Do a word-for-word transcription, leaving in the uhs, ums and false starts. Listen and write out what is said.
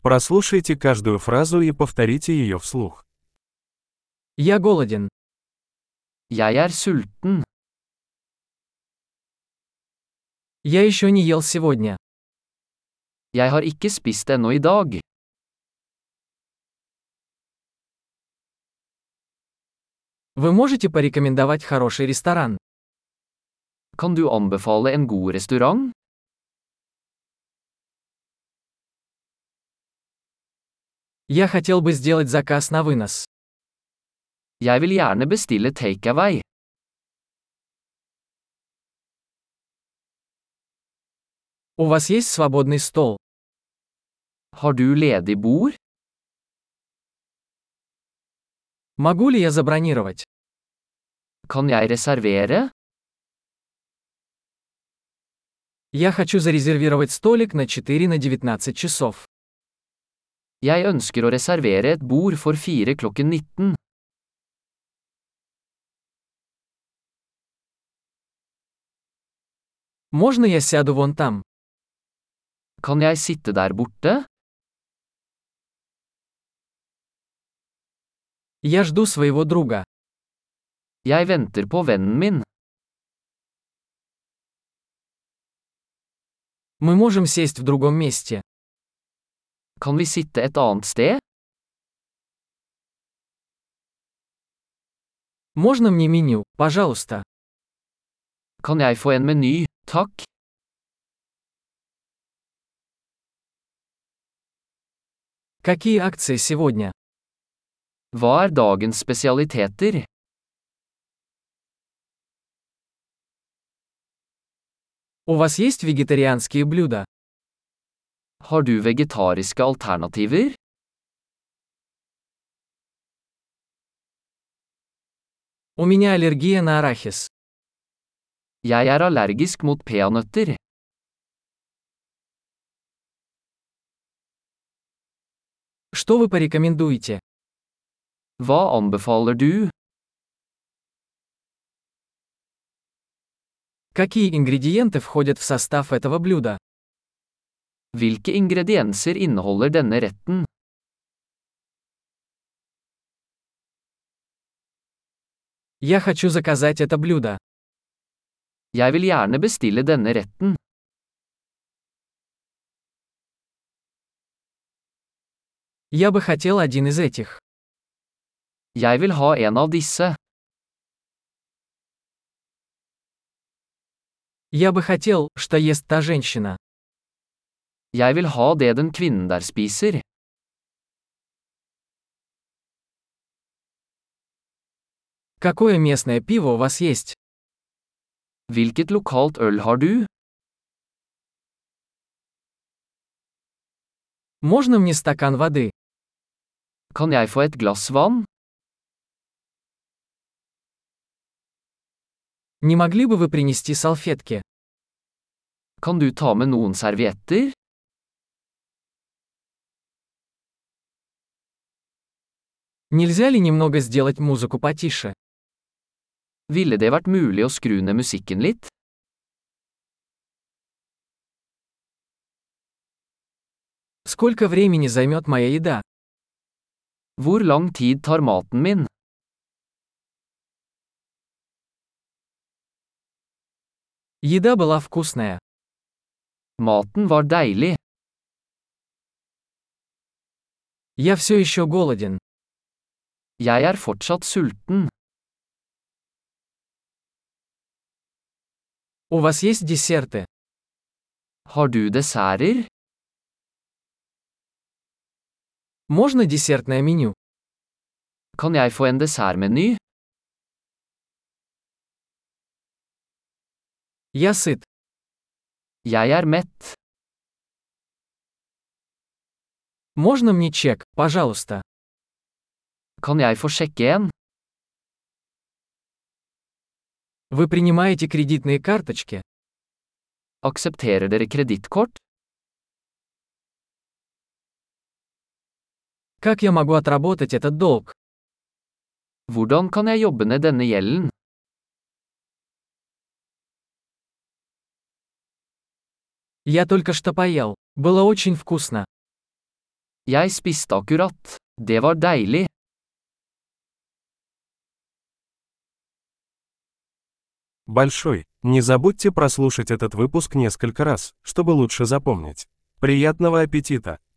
Прослушайте каждую фразу и повторите ее вслух. Я голоден. Jeg er sulten. Я еще не ел сегодня. Jeg har ikke spist ennå i dag. Вы можете порекомендовать хороший ресторан? Kan du anbefale en god restaurant? Я хотел бы сделать заказ на вынос. Jeg vil gjerne bestille takeaway. У вас есть свободный стол? Har du ledig bord? Могу ли я забронировать? Kan jeg reservere? Я хочу зарезервировать столик на четыре на девятнадцать часов. Jeg ønsker å reservere et bord for fire klokken nitten. Можно я сяду вон там? Kan jeg sitte der borte? Я жду своего друга. Jeg venter på vennen min. Мы можем сесть в другом месте. Kan vi sitte et annet sted? Можно мне меню, пожалуйста? Kan jeg få en meny, takk? Какие акции сегодня? Hva er dagens spesialiteter? У вас есть вегетарианские блюда? Har du vegetariske alternativer? У меня аллергия на арахис. Jeg er allergisk mot peanøtter. Что вы порекомендуете? Hva anbefaler du? Какие ингредиенты входят в состав этого блюда? Hvilke ingredienser inneholder denne retten? Я хочу заказать это блюдо. Jeg vil gjerne bestille denne retten. Я бы хотел один из этих. Jeg vil ha en av disse. Я бы хотел, что ест та женщина. Jeg vil ha det den kvinnen der spiser. Какое местное пиво у вас есть? Hvilket lokalt øl har du? Можно мне стакан воды? Kan jeg få et glass vann? Не могли бы вы принести салфетки? Kan du ta med noen servietter? Нельзя ли немного сделать музыку потише? Ville det vært mulig å skru ned musikken litt? Сколько времени займет моя еда? Hvor lang tid tar maten min? Еда была вкусная. Maten var deilig. Я все еще голоден. Jeg er fortsatt sulten. У вас есть десерты? Har du desserter? Можно десертное меню? Kan jeg få en dessertmeny? Я сыт. Jeg er mett. Можно мне чек, пожалуйста? Kan jeg få sjekke en? Вы принимаете кредитные карточки? Aksepterer dere kredittkort? Как я могу отработать этот долг? Hvordan kan jeg jobbe ned denne gjelden? Я только что поел. Было очень вкусно. Jeg spiste akkurat. Det var deilig. Большой. Не забудьте прослушать этот выпуск несколько раз, чтобы лучше запомнить. Приятного аппетита!